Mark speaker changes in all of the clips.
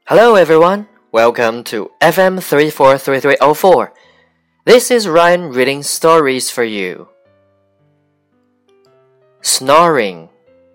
Speaker 1: Hello everyone, welcome to FM 343304. This is Ryan reading stories for you. Snoring.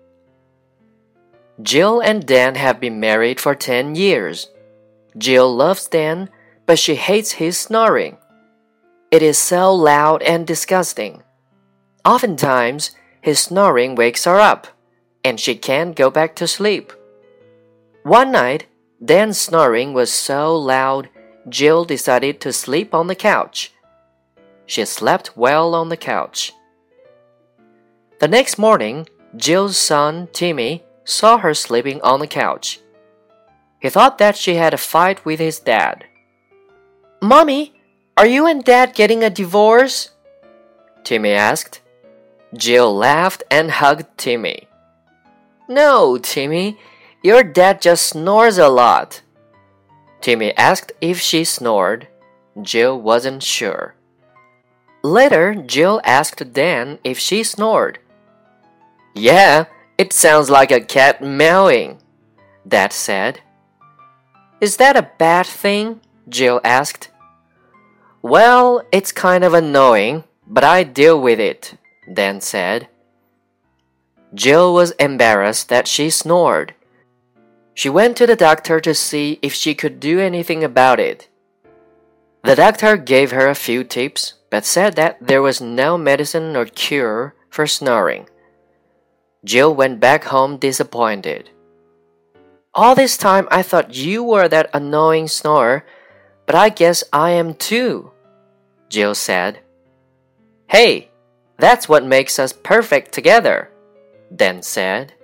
Speaker 1: Jill and Dan have been married for 10 years. Jill loves Dan, but she hates his snoring. It is so loud and disgusting. Oftentimes, his snoring wakes her up, and she can't go back to sleep. One night, Dan's snoring was so loud, Jill decided to sleep on the couch. She slept well on the couch. The next morning, Jill's son, Timmy, saw her sleeping on the couch. He thought that she had a fight with his dad. "Mommy, are you and Dad getting a divorce?" Timmy asked. Jill laughed and hugged Timmy. "No, Timmy. Your dad just snores a lot." Timmy asked if she snored. Jill wasn't sure. Later, Jill asked Dan if she snored. "Yeah, it sounds like a cat meowing," Dad said. "Is that a bad thing?" Jill asked. "Well, it's kind of annoying, but I deal with it," Dan said. Jill was embarrassed that she snored. She went to the doctor to see if she could do anything about it. The doctor gave her a few tips, but said that there was no medicine or cure for snoring. Jill went back home disappointed. "All this time I thought you were that annoying snorer, but I guess I am too," Jill said. "Hey, that's what makes us perfect together," Dan said.